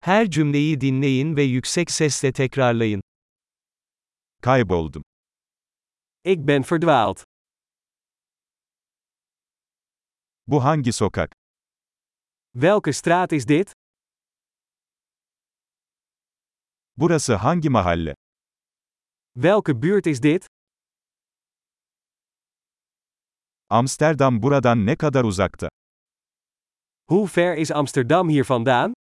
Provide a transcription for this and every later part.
Her cümleyi dinleyin ve yüksek sesle tekrarlayın. Kayboldum. Ik ben verdwaald. Bu hangi sokak? Welke straat is dit? Burası hangi mahalle? Welke buurt is dit? Amsterdam buradan ne kadar uzakta? Hoe ver is Amsterdam hier vandaan?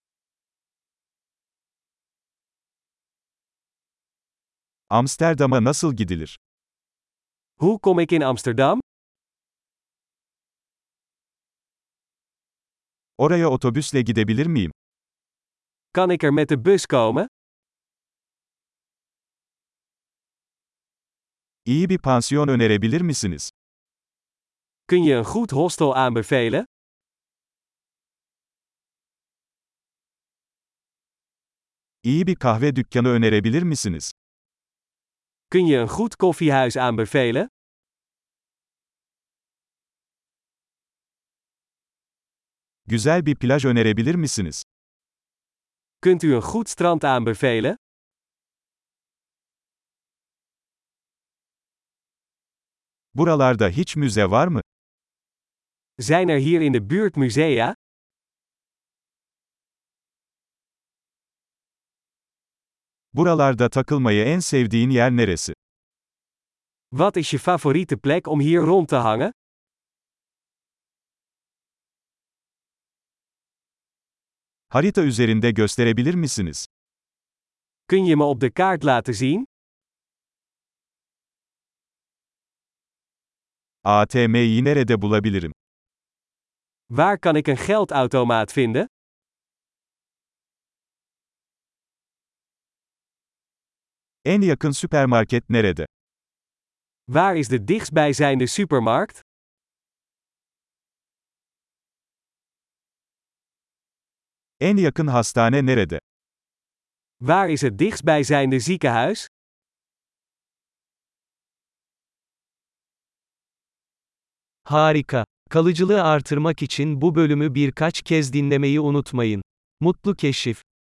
Amsterdam'a nasıl gidilir? Hoe kom ik in Amsterdam? Oraya otobüsle gidebilir miyim? Kan ik er met de bus komen? İyi bir pansiyon önerebilir misiniz? Kun je een goed hostel aanbevelen? İyi bir kahve dükkanı önerebilir misiniz? Kun je een goed koffiehuis aanbevelen? Güzel bir plaj önerebilir misiniz? Kunt u een goed strand aanbevelen? Buralarda hiç müze var mı? Zijn er hier in de buurt musea? Buralarda takılmayı en sevdiğin yer neresi? Wat is je favoriete plek om hier rond te hangen? Harita üzerinde gösterebilir misiniz? Kun je me op de kaart laten zien? ATM'yi nerede bulabilirim? Waar kan ik een geldautomaat vinden? En yakın süpermarket nerede? Waar is de dichtstbijzijnde supermarkt? En yakın hastane nerede? Waar is het dichtstbijzijnde ziekenhuis? Harika. Kalıcılığı artırmak için bu bölümü birkaç kez dinlemeyi unutmayın. Mutlu keşif.